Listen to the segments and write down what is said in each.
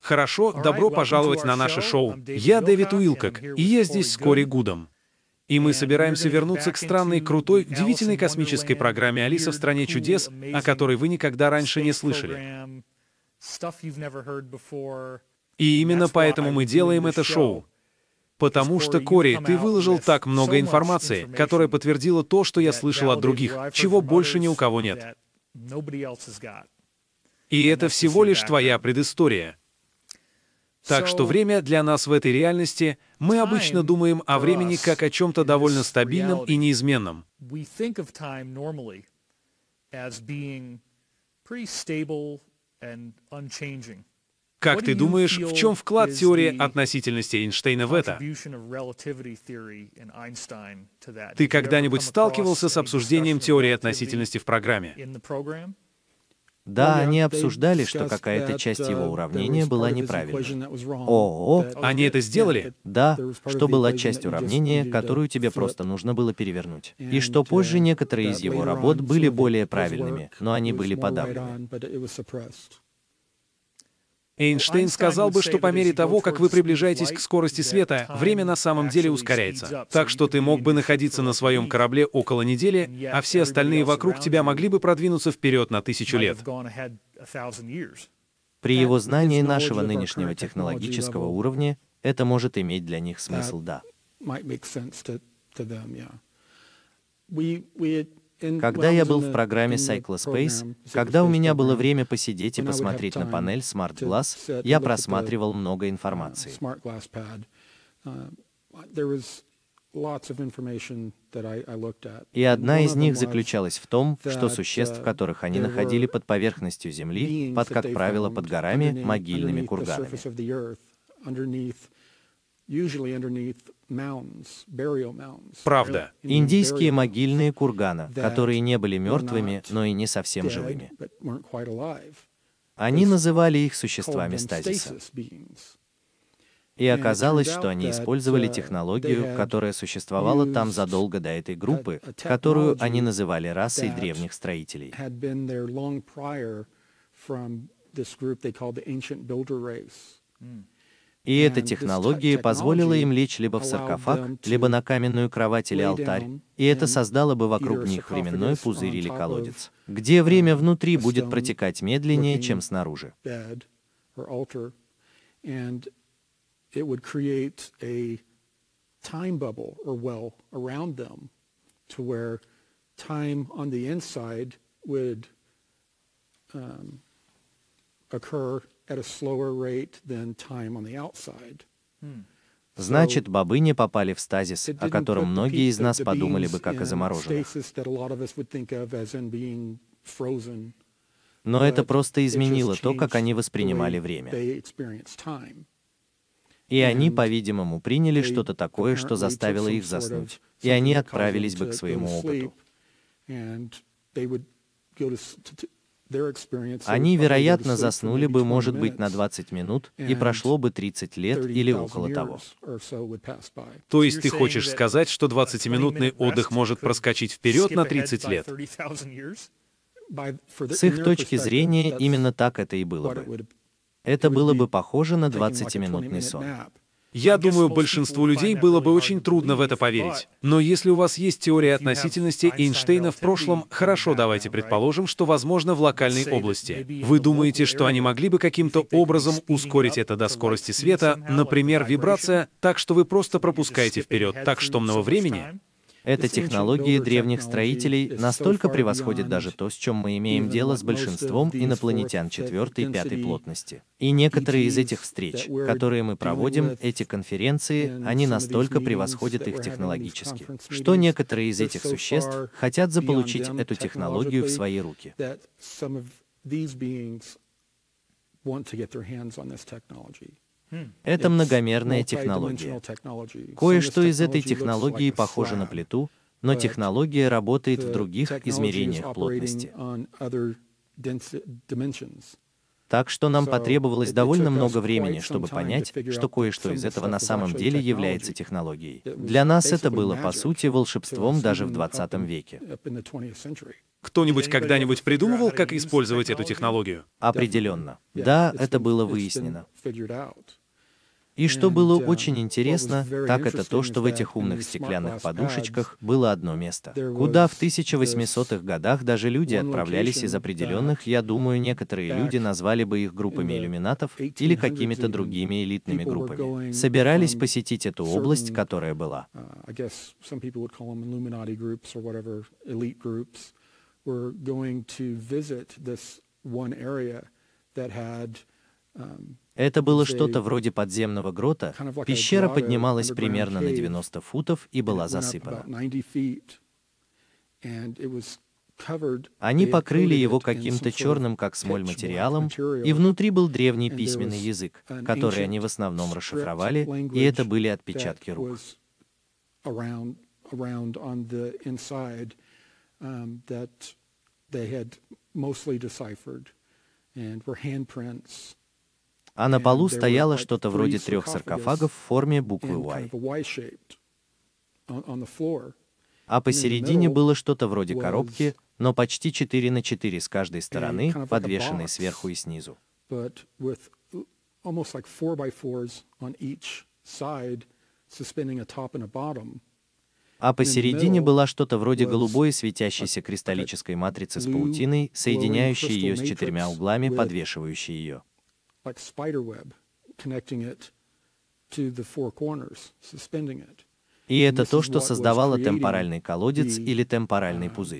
Хорошо, добро пожаловать на наше шоу. Я Дэвид Уилкок, и я здесь с Кори Гудом. И мы собираемся вернуться к странной, крутой, удивительной космической программе «Алиса в стране чудес», о которой вы никогда раньше не слышали. И именно поэтому мы делаем это шоу. Потому что, Кори, ты выложил так много информации, которая подтвердила то, что я слышал от других, чего больше ни у кого нет. И это всего лишь твоя предыстория. Так что время для нас в этой реальности, мы обычно думаем о времени как о чем-то довольно стабильном и неизменном. Как ты думаешь, в чем вклад теории относительности Эйнштейна в это? Ты когда-нибудь сталкивался с обсуждением теории относительности в программе? Да, они обсуждали, что какая-то часть его уравнения была неправильной. Они это сделали? Да, что была часть уравнения, которую тебе просто нужно было перевернуть. И что позже некоторые из его работ были более правильными, но они были подавлены. Эйнштейн сказал бы, что по мере того, как вы приближаетесь к скорости света, время на самом деле ускоряется. Так что ты мог бы находиться на своем корабле около недели, а все остальные вокруг тебя могли бы продвинуться вперед на 1000 лет. При его знании нашего нынешнего технологического уровня, это может иметь для них смысл, да. Когда я был в программе Cyclospace, когда у меня было время посидеть и посмотреть на панель Smart Glass, я просматривал много информации. И одна из них заключалась в том, что существ, которых они находили под поверхностью Земли, как правило, под горами, могильными курганами. Правда. Индийские могильные курганы, которые не были мертвыми, но и не совсем живыми. Они называли их существами стазиса. И оказалось, что они использовали технологию, которая существовала там задолго до этой группы, которую они называли расой древних строителей. И эта технология позволила им лечь либо в саркофаг, либо на каменную кровать или алтарь, и это создало бы вокруг них временной пузырь или колодец, где время внутри будет протекать медленнее, чем снаружи. Значит, бобы не попали в стазис, о котором многие из нас подумали бы как о замороженных. Но это просто изменило то, как они воспринимали время. И они, по-видимому, приняли что-то такое, что заставило их заснуть, и они отправились бы к своему опыту. Они, вероятно, заснули бы, может быть, на 20 минут, и прошло бы 30 лет или около того. То есть ты хочешь сказать, что 20-минутный отдых может проскочить вперед на 30 лет? С их точки зрения, именно так это и было бы. Это было бы похоже на 20-минутный сон. Я думаю, большинству людей было бы очень трудно в это поверить. Но если у вас есть теория относительности Эйнштейна в прошлом, хорошо, давайте предположим, что возможно в локальной области. Вы думаете, что они могли бы каким-то образом ускорить это до скорости света, например, вибрация, так что вы просто пропускаете вперед так штомного времени? Эта технология древних строителей настолько превосходит даже то, с чем мы имеем дело с большинством инопланетян 4-й и 5-й плотности. И некоторые из этих встреч, которые мы проводим, эти конференции, они настолько превосходят их технологически, что некоторые из этих существ хотят заполучить эту технологию в свои руки. Это многомерная технология. Кое-что из этой технологии похоже на плиту, но технология работает в других измерениях плотности. Так что нам потребовалось довольно много времени, чтобы понять, что кое-что из этого на самом деле является технологией. Для нас это было, по сути, волшебством даже в 20 веке. Кто-нибудь когда-нибудь придумывал, как использовать эту технологию? Определенно. Да, это было выяснено. И что было очень интересно, так это то, что в этих умных стеклянных подушечках было одно место, куда в 1800-х годах даже люди отправлялись из определенных, я думаю, некоторые люди назвали бы их группами иллюминатов или какими-то другими элитными группами, собирались посетить эту область, которая была. Это было что-то вроде подземного грота, пещера поднималась примерно на 90 футов и была засыпана. Они покрыли его каким-то черным, как смоль, материалом, и внутри был древний письменный язык, который они в основном расшифровали, и это были отпечатки рук. А на полу стояло что-то вроде 3 саркофагов в форме буквы Y. А посередине было что-то вроде коробки, но почти 4 на 4 с каждой стороны, подвешенной сверху и снизу. А посередине была что-то вроде голубой светящейся кристаллической матрицы с паутиной, соединяющей ее с 4 углами, подвешивающей ее. И это то, что создавало темпоральный колодец или темпоральный пузырь.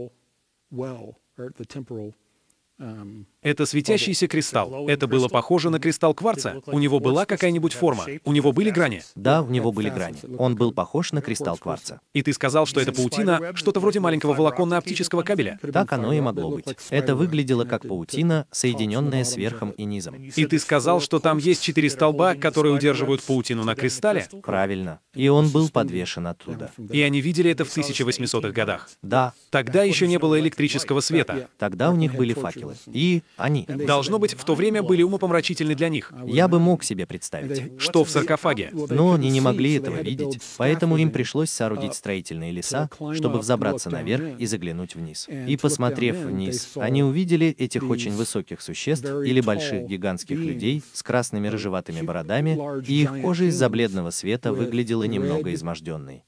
Это светящийся кристалл. Это было похоже на кристалл кварца? У него была какая-нибудь форма? У него были грани? Да, у него были грани. Он был похож на кристалл кварца. И ты сказал, что это паутина, что-то вроде маленького волоконно-оптического кабеля? Так оно и могло быть. Это выглядело как паутина, соединенная с верхом и низом. И ты сказал, что там есть 4 столба, которые удерживают паутину на кристалле? Правильно. И он был подвешен оттуда. И они видели это в 1800-х годах? Да. Тогда еще не было электрического света. Тогда у них были факелы. И они. Должно быть, в то время были умопомрачительны для них. Я бы мог себе представить. Что в саркофаге? Но они не могли этого видеть, поэтому им пришлось соорудить строительные леса, чтобы взобраться наверх и заглянуть вниз. И посмотрев вниз, они увидели этих очень высоких существ или больших гигантских людей с красными рыжеватыми бородами, и их кожа из-за бледного света выглядела немного изможденной.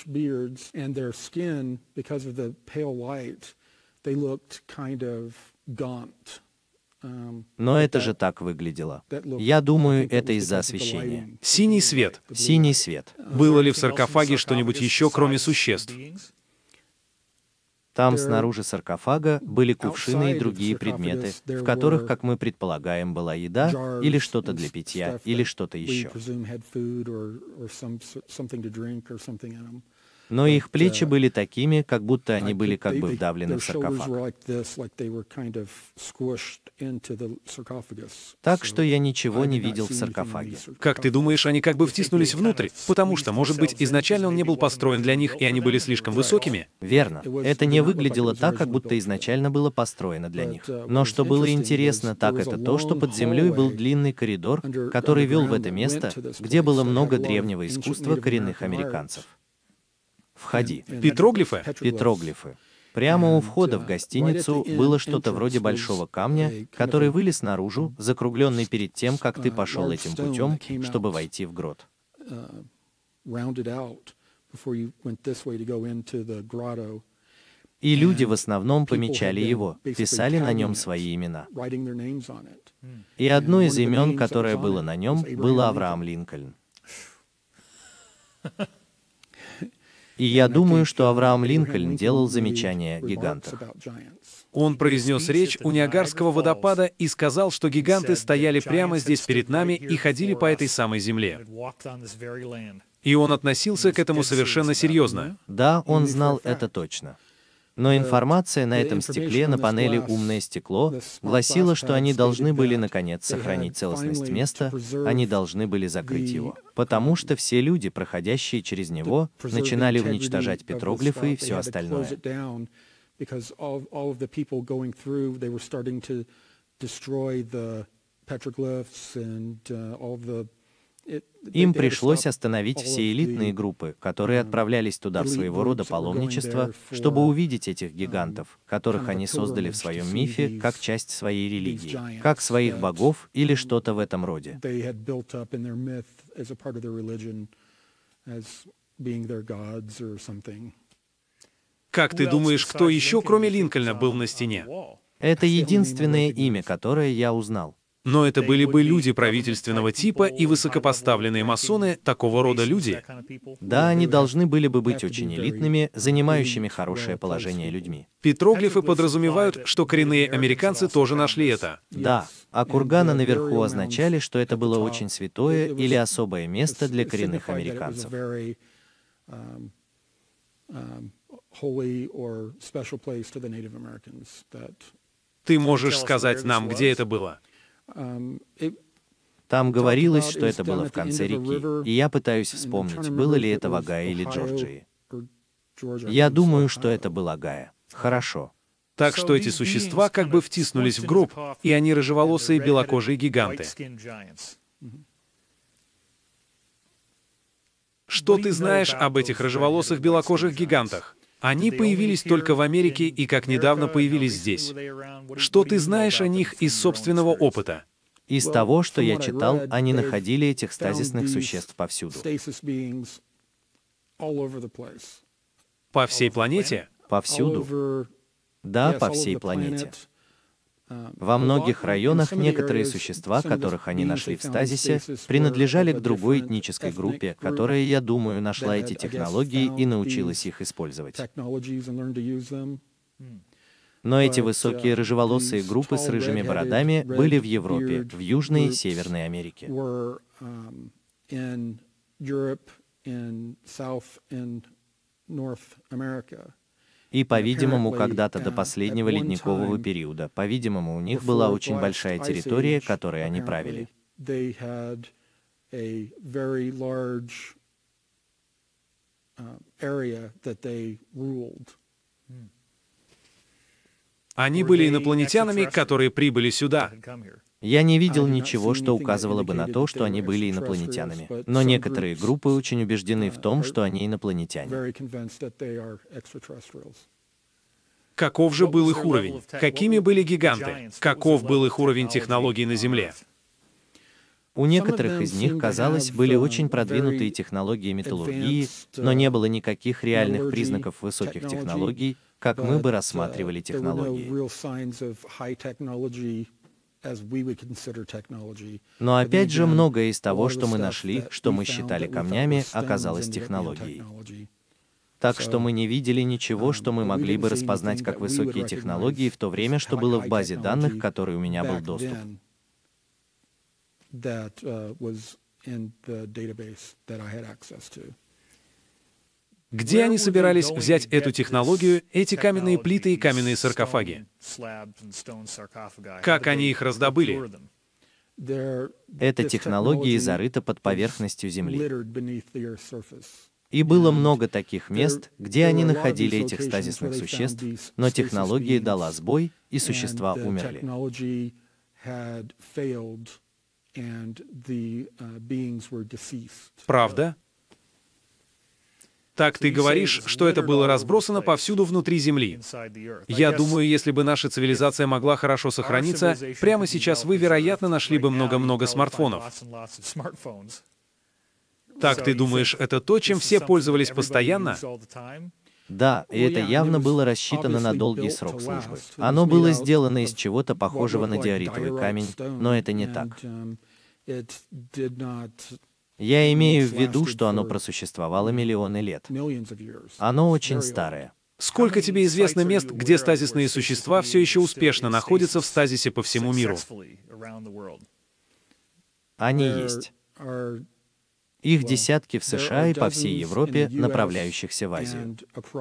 Но это же так выглядело. Я думаю, это из-за освещения. Синий свет. Синий свет. Было ли в саркофаге что-нибудь еще, кроме существ? Там снаружи саркофага были кувшины и другие предметы, в которых, как мы предполагаем, была еда, или что-то для питья, или что-то еще. Но их плечи были такими, как будто они были как бы вдавлены в саркофаг. Так что я ничего не видел в саркофаге. Как ты думаешь, они как бы втиснулись внутрь? Потому что, может быть, изначально он не был построен для них, и они были слишком высокими? Верно. Это не выглядело так, как будто изначально было построено для них. Но что было интересно, так это то, что под землей был длинный коридор, который вел в это место, где было много древнего искусства коренных американцев. Входи. Петроглифы? Петроглифы. Прямо у входа в гостиницу было что-то вроде большого камня, который вылез наружу, закругленный перед тем, как ты пошел этим путем, чтобы войти в грот. И люди в основном помечали его, писали на нем свои имена. И одно из имен, которое было на нем, было Авраам Линкольн. И я думаю, что Авраам Линкольн делал замечания о гигантах. Он произнес речь у Ниагарского водопада и сказал, что гиганты стояли прямо здесь перед нами и ходили по этой самой земле. И он относился к этому совершенно серьезно. Да, он знал это точно. Но информация на этом стекле, на панели «Умное стекло», гласила, что они должны были, наконец, сохранить целостность места, они должны были закрыть его. Потому что все люди, проходящие через него, начинали уничтожать петроглифы и все остальное. Им пришлось остановить все элитные группы, которые отправлялись туда в своего рода паломничество, чтобы увидеть этих гигантов, которых они создали в своем мифе как часть своей религии, как своих богов или что-то в этом роде. Как ты думаешь, кто еще, кроме Линкольна, был на стене? Это единственное имя, которое я узнал. Но это были бы люди правительственного типа и высокопоставленные масоны, такого рода люди. Да, они должны были бы быть очень элитными, занимающими хорошее положение людьми. Петроглифы подразумевают, что коренные американцы тоже нашли это. Да, а курганы наверху означали, что это было очень святое или особое место для коренных американцев. Ты можешь сказать нам, где это было? Там говорилось, что это было в конце реки, и я пытаюсь вспомнить, было ли это в Огайо или Джорджии. Я думаю, что это был Огайо. Хорошо. Так что эти существа как бы втиснулись в гроб, и они рыжеволосые белокожие гиганты. Что ты знаешь об этих рыжеволосых белокожих гигантах? Они появились только в Америке и как недавно появились здесь. Что ты знаешь о них из собственного опыта? Из того, что я читал, они находили этих стазисных существ повсюду. По всей планете? Повсюду. Да, по всей планете. Во многих районах некоторые существа, которых они нашли в стазисе, принадлежали к другой этнической группе, которая, я думаю, нашла эти технологии и научилась их использовать. Но эти высокие рыжеволосые группы с рыжими бородами были в Европе, в Южной и Северной Америке. И, по-видимому, когда-то до последнего ледникового периода, по-видимому, у них была очень большая территория, которой они правили. Они были инопланетянами, которые прибыли сюда. Я не видел ничего, что указывало бы на то, что они были инопланетянами. Но некоторые группы очень убеждены в том, что они инопланетяне. Каков же был их уровень? Какими были гиганты? Каков был их уровень технологий на Земле? У некоторых из них, казалось, были очень продвинутые технологии металлургии, но не было никаких реальных признаков высоких технологий, как мы бы рассматривали технологии. Но опять же, многое из того, что мы нашли, что мы считали камнями, оказалось технологией. Так что мы не видели ничего, что мы могли бы распознать как высокие технологии в то время, что было в базе данных, к которой у меня был доступ. Где они собирались взять эту технологию, эти каменные плиты и каменные саркофаги? Как они их раздобыли? Эта технология зарыта под поверхностью Земли. И было много таких мест, где они находили этих стазисных существ, но технология дала сбой, и существа умерли. Правда? Так ты говоришь, что это было разбросано повсюду внутри Земли. Я думаю, если бы наша цивилизация могла хорошо сохраниться, прямо сейчас вы, вероятно, нашли бы много-много смартфонов. Так ты думаешь, это то, чем все пользовались постоянно? Да, и это явно было рассчитано на долгий срок службы. Оно было сделано из чего-то похожего на диоритовый камень, но это не так. Я имею в виду, что оно просуществовало миллионы лет. Оно очень старое. Сколько тебе известно мест, где стазисные существа все еще успешно находятся в стазисе по всему миру? Они есть. Их десятки в США и по всей Европе, направляющихся в Азию.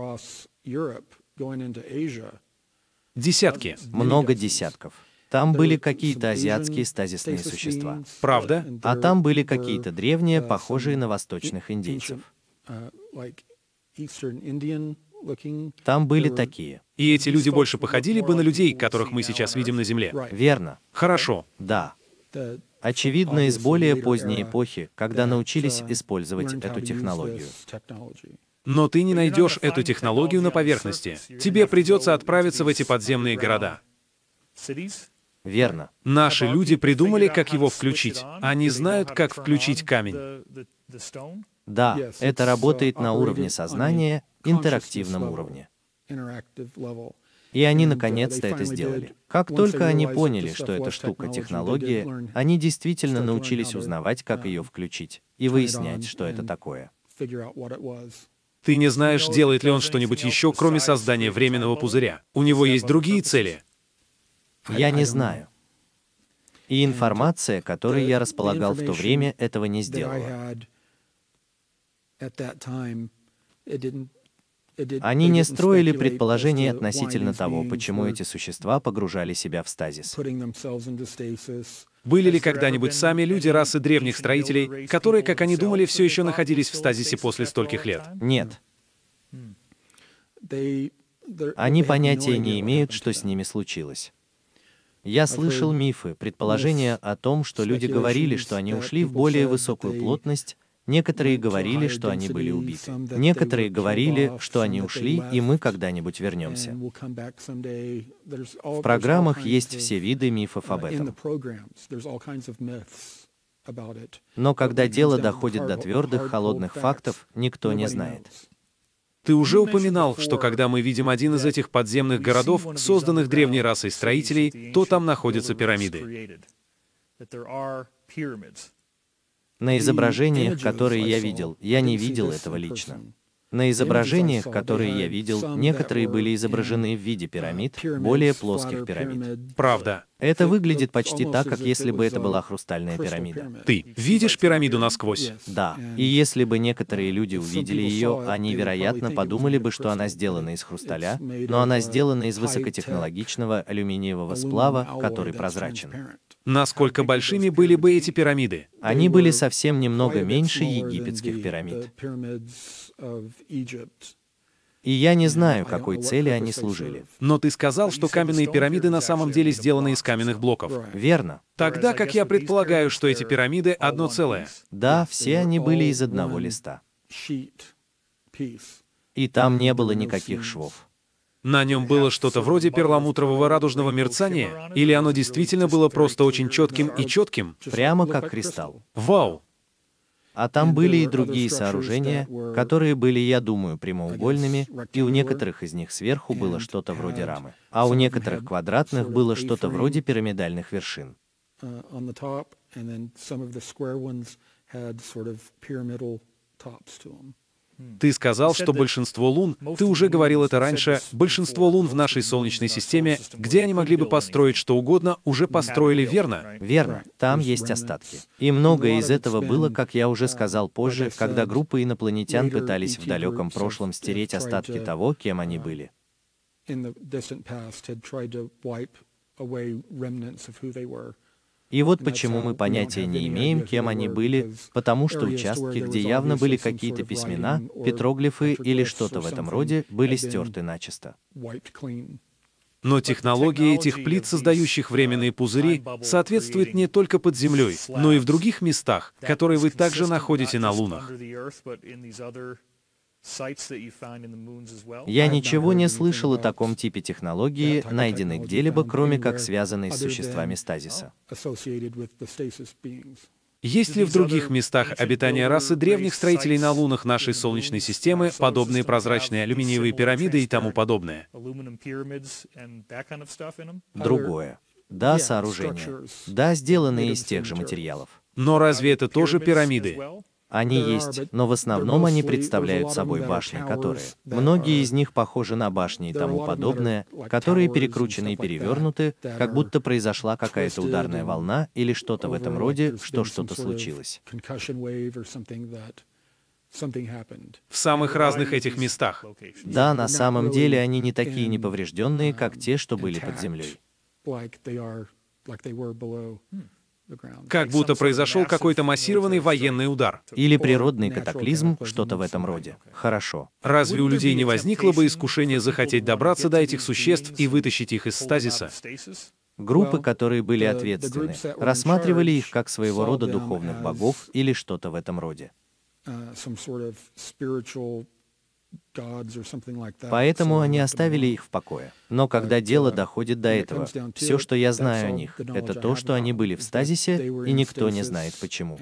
Десятки. Много десятков. Там были какие-то азиатские стазисные существа. Правда? А там были какие-то древние, похожие на восточных индейцев. Там были такие. И эти люди больше походили бы на людей, которых мы сейчас видим на Земле. Верно. Хорошо. Да. Очевидно, из более поздней эпохи, когда научились использовать эту технологию. Но ты не найдешь эту технологию на поверхности. Тебе придется отправиться в эти подземные города. Верно. Наши люди придумали, как его включить. Они знают, как включить камень. Да, это работает на уровне сознания, интерактивном уровне. И они наконец-то это сделали. Как только они поняли, что эта штука — технология, они действительно научились узнавать, как ее включить, и выяснять, что это такое. Ты не знаешь, делает ли он что-нибудь еще, кроме создания временного пузыря. У него есть другие цели. Я не знаю. И информация, которой я располагал в то время, этого не сделала. Они не строили предположений относительно того, почему эти существа погружали себя в стазис. Были ли когда-нибудь сами люди расы древних строителей, которые, как они думали, все еще находились в стазисе после стольких лет? Нет. Они понятия не имеют, что с ними случилось. Я слышал мифы, предположения о том, что люди говорили, что они ушли в более высокую плотность, некоторые говорили, что они были убиты. Некоторые говорили, что они ушли, и мы когда-нибудь вернемся. В программах есть все виды мифов об этом. Но когда дело доходит до твердых, холодных фактов, никто не знает. Ты уже упоминал, что когда мы видим один из этих подземных городов, созданных древней расой строителей, то там находятся пирамиды. На изображениях, которые я видел, я не видел этого лично. На изображениях, которые я видел, некоторые были изображены в виде пирамид, более плоских пирамид. Правда. Это выглядит почти так, как если бы это была хрустальная пирамида. Ты видишь пирамиду насквозь? Да. И если бы некоторые люди увидели ее, они, вероятно, подумали бы, что она сделана из хрусталя, но она сделана из высокотехнологичного алюминиевого сплава, который прозрачен. Насколько большими были бы эти пирамиды? Они были совсем немного меньше египетских пирамид. И я не знаю, какой цели они служили. Но ты сказал, что каменные пирамиды на самом деле сделаны из каменных блоков. Верно. Тогда как я предполагаю, что эти пирамиды одно целое. Да, все они были из одного листа. И там не было никаких швов. На нем было что-то вроде перламутрового радужного мерцания, или оно действительно было просто очень четким и четким? Прямо как кристалл. Вау! А там были и другие сооружения, которые были, я думаю, прямоугольными, и у некоторых из них сверху было что-то вроде рамы, а у некоторых квадратных было что-то вроде пирамидальных вершин. Ты сказал, что большинство лун, ты уже говорил это раньше, большинство лун в нашей Солнечной системе, где они могли бы построить что угодно, уже построили, верно? Верно, там есть остатки. И многое из этого было, как я уже сказал позже, когда группы инопланетян пытались в далеком прошлом стереть остатки того, кем они были. И вот почему мы понятия не имеем, кем они были, потому что участки, где явно были какие-то письмена, петроглифы или что-то в этом роде, были стерты начисто. Но технология этих плит, создающих временные пузыри, соответствует не только под землей, но и в других местах, которые вы также находите на лунах. Я ничего не слышал о таком типе технологии, найденной где-либо, кроме как связанной с существами стазиса. Есть ли в других местах обитания расы древних строителей на лунах нашей Солнечной системы подобные прозрачные алюминиевые пирамиды и тому подобное? Другое. Да, сооружения. Да, сделанные из тех же материалов. Но разве это тоже пирамиды? Они есть, но в основном они представляют собой башни, которые... Многие из них похожи на башни и тому подобное, которые перекручены и перевернуты, как будто произошла какая-то ударная волна или что-то в этом роде, что что-то случилось. В самых разных этих местах. Да, на самом деле они не такие неповрежденные, как те, что были под землей. Как будто произошел какой-то массированный военный удар. Или природный катаклизм, что-то в этом роде. Хорошо. Разве у людей не возникло бы искушение захотеть добраться до этих существ и вытащить их из стазиса? Группы, которые были ответственны, рассматривали их как своего рода духовных богов или что-то в этом роде. Поэтому они оставили их в покое. Но когда дело доходит до этого, все, что я знаю о них, это то, что они были в стазисе, и никто не знает почему.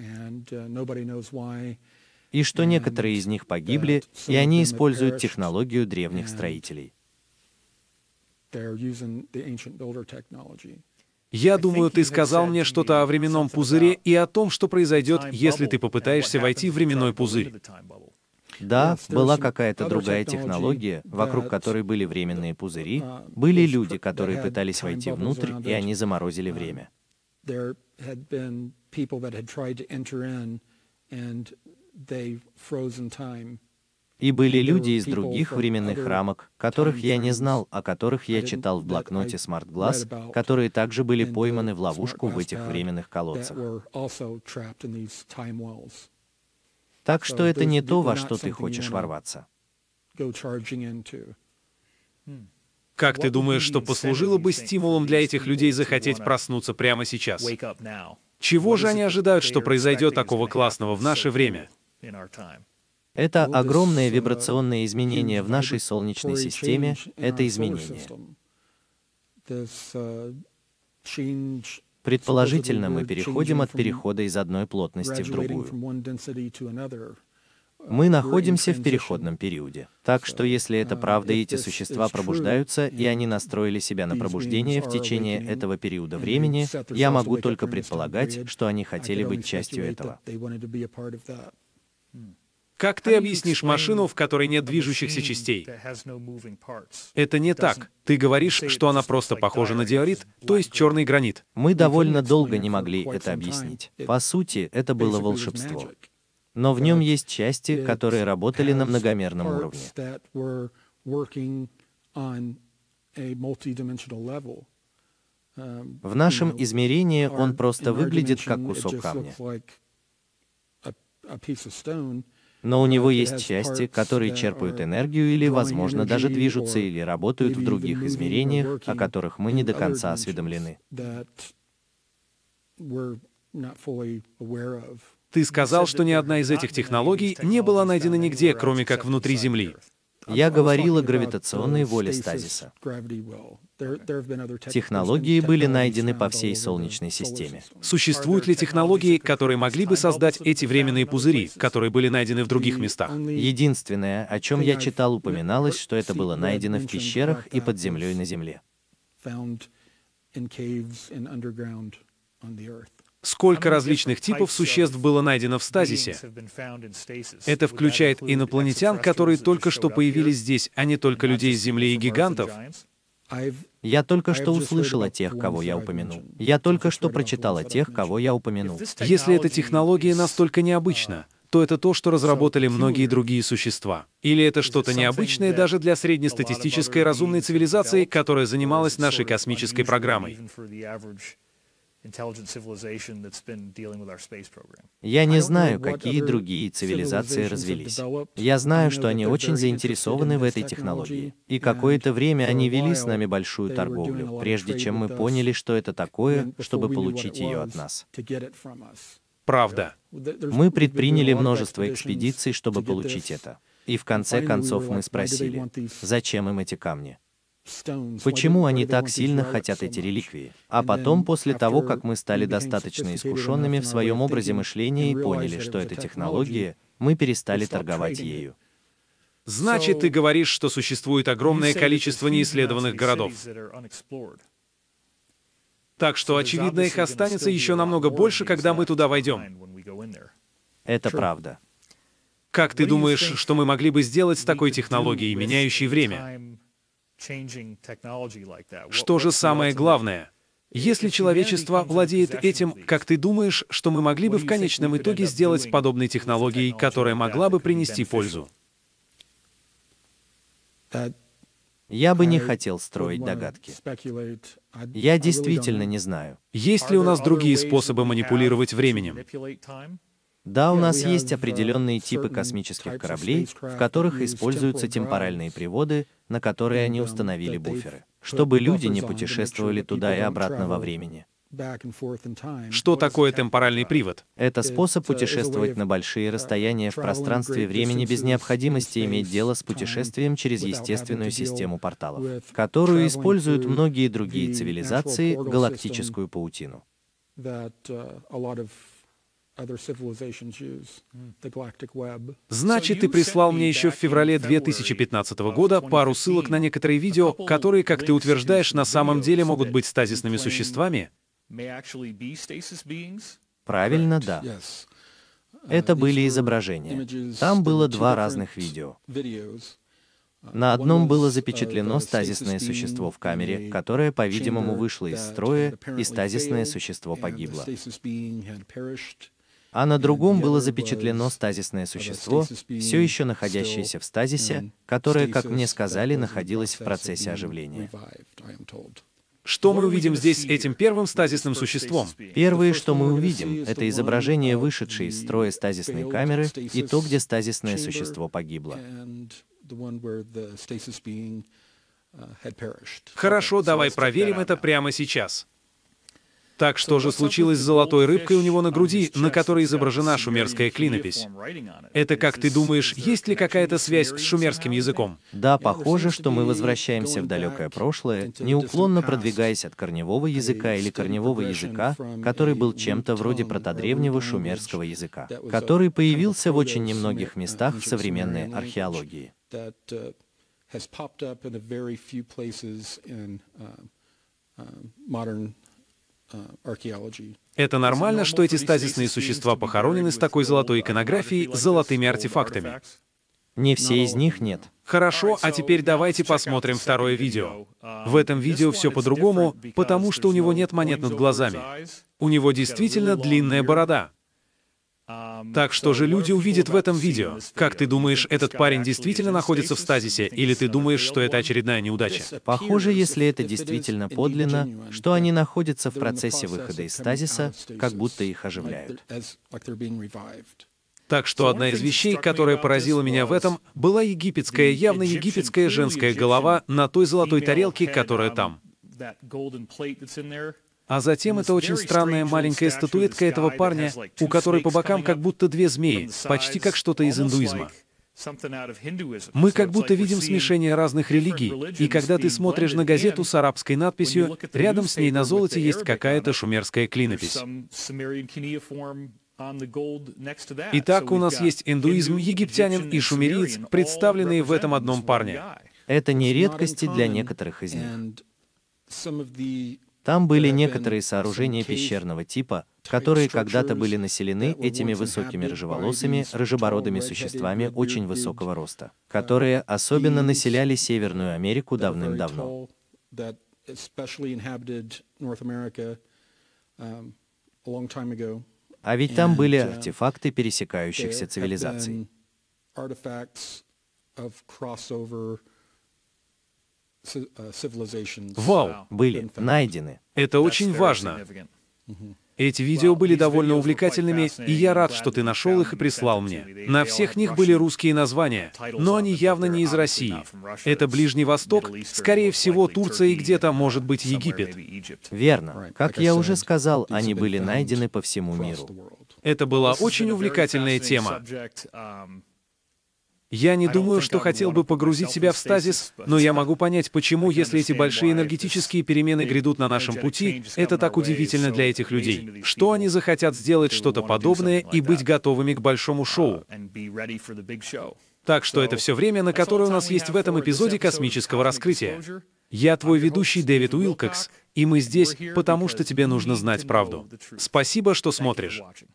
И что некоторые из них погибли, и они используют технологию древних строителей. Я думаю, ты сказал мне что-то о временном пузыре и о том, что произойдет, если ты попытаешься войти в временной пузырь. Да, была какая-то другая технология, вокруг которой были временные пузыри, были люди, которые пытались войти внутрь, и они заморозили время. И были люди из других временных рамок, которых я не знал, о которых я читал в блокноте Smart Glass, которые также были пойманы в ловушку в этих временных колодцах. Так что это не то, во что ты хочешь ворваться. Как ты думаешь, что послужило бы стимулом для этих людей захотеть проснуться прямо сейчас? Чего же они ожидают, что произойдет такого классного в наше время? Это огромное вибрационное изменение в нашей Солнечной системе, это изменение. Предположительно, мы переходим от перехода из одной плотности в другую. Мы находимся в переходном периоде. Так что если это правда, и эти существа пробуждаются, и они настроили себя на пробуждение в течение этого периода времени, я могу только предполагать, что они хотели быть частью этого. Как ты объяснишь машину, в которой нет движущихся частей? Это не так. Ты говоришь, что она просто похожа на диорит, то есть черный гранит. Мы довольно долго не могли это объяснить. По сути, это было волшебство. Но в нем есть части, которые работали на многомерном уровне. В нашем измерении он просто выглядит как кусок камня. Но у него есть части, которые черпают энергию или, возможно, даже движутся или работают в других измерениях, о которых мы не до конца осведомлены. Ты сказал, что ни одна из этих технологий не была найдена нигде, кроме как внутри Земли. Я говорил о гравитационной воле стазиса. Технологии были найдены по всей Солнечной системе. Существуют ли технологии, которые могли бы создать эти временные пузыри, которые были найдены в других местах? Единственное, о чем я читал, упоминалось, что это было найдено в пещерах и под землей на Земле. Сколько различных типов существ было найдено в стазисе? Это включает инопланетян, которые только что появились здесь, а не только людей с Земли и гигантов? Я только что услышал о тех, кого я упомянул. Я только что прочитал о тех, кого я упомянул. Если эта технология настолько необычна, то это то, что разработали многие другие существа. Или это что-то необычное даже для среднестатистической разумной цивилизации, которая занималась нашей космической программой. Я не знаю, какие другие цивилизации развелись. Я знаю, что они очень заинтересованы в этой технологии. И какое-то время они вели с нами большую торговлю, прежде чем мы поняли, что это такое, чтобы получить ее от нас. Правда. Мы предприняли множество экспедиций, чтобы получить это. И в конце концов мы спросили, зачем им эти камни? Почему они так сильно хотят эти реликвии? А потом, после того, как мы стали достаточно искушенными в своем образе мышления и поняли, что это технология, мы перестали торговать ею. Значит, ты говоришь, что существует огромное количество неисследованных городов. Так что, очевидно, их останется еще намного больше, когда мы туда войдем. Это правда. Как ты думаешь, что мы могли бы сделать с такой технологией, меняющей время? Что же самое главное? Если человечество владеет этим, как ты думаешь, что мы могли бы в конечном итоге сделать с подобной технологией, которая могла бы принести пользу? Я бы не хотел строить догадки. Я действительно не знаю. Есть ли у нас другие способы манипулировать временем? Да, у нас есть определенные типы космических кораблей, в которых используются темпоральные приводы, на которые они установили буферы, чтобы люди не путешествовали туда и обратно во времени. Что такое темпоральный привод? Это способ путешествовать на большие расстояния в пространстве и времени без необходимости иметь дело с путешествием через естественную систему порталов, которую используют многие другие цивилизации, галактическую паутину. Значит, ты прислал мне еще в феврале 2015 года пару ссылок на некоторые видео, которые, как ты утверждаешь, на самом деле могут быть стазисными существами? Правильно, да. Это были изображения. Там было два разных видео. На одном было запечатлено стазисное существо в камере, которое, по-видимому, вышло из строя, и стазисное существо погибло. А на другом было запечатлено стазисное существо, все еще находящееся в стазисе, которое, как мне сказали, находилось в процессе оживления. Что мы увидим здесь с этим первым стазисным существом? Первое, что мы увидим, это изображение вышедшей из строя стазисной камеры и то, где стазисное существо погибло. Хорошо, давай проверим это прямо сейчас. Так что же случилось с золотой рыбкой у него на груди, на которой изображена шумерская клинопись? Это, как ты думаешь, есть ли какая-то связь с шумерским языком? Да, похоже, что мы возвращаемся в далекое прошлое, неуклонно продвигаясь от корневого языка или корневого языка, который был чем-то вроде протодревнего шумерского языка, который появился в очень немногих местах в современной археологии. Это нормально, что эти стазисные существа похоронены с такой золотой иконографией, с золотыми артефактами? Не все из них нет. Хорошо, а теперь давайте посмотрим второе видео. В этом видео все по-другому, потому что у него нет монет над глазами. У него действительно длинная борода. Так что же люди увидят в этом видео? Как ты думаешь, этот парень действительно находится в стазисе, или ты думаешь, что это очередная неудача? Похоже, если это действительно подлинно, что они находятся в процессе выхода из стазиса, как будто их оживляют. Так что одна из вещей, которая поразила меня в этом, была египетская, явно египетская женская голова на той золотой тарелке, которая там. А затем это очень странная маленькая статуэтка этого парня, у которой по бокам как будто две змеи, почти как что-то из индуизма. Мы как будто видим смешение разных религий, и когда ты смотришь на газету с арабской надписью, рядом с ней на золоте есть какая-то шумерская клинопись. Итак, у нас есть индуизм, египтянин и шумериец, представленные в этом одном парне. Это не редкости для некоторых из них. Там были некоторые сооружения пещерного типа, которые когда-то были населены этими высокими рыжеволосыми, рыжебородыми существами очень высокого роста, которые особенно населяли Северную Америку давным-давно. А ведь там были артефакты пересекающихся цивилизаций. Вау! Были найдены. Это очень важно. Эти видео были довольно увлекательными, и я рад, что ты нашел их и прислал мне. На всех них были русские названия, но они явно не из России. Это Ближний Восток, скорее всего, Турция и где-то, может быть, Египет. Верно. Как я уже сказал, они были найдены по всему миру. Это была очень увлекательная тема. Я не думаю, что хотел бы погрузить себя в стазис, но я могу понять, почему, если эти большие энергетические перемены грядут на нашем пути, это так удивительно для этих людей, что они захотят сделать что-то подобное и быть готовыми к большому шоу. Так что это все время, на которое у нас есть в этом эпизоде космического раскрытия. Я твой ведущий Дэвид Уилкокс, и мы здесь, потому что тебе нужно знать правду. Спасибо, что смотришь.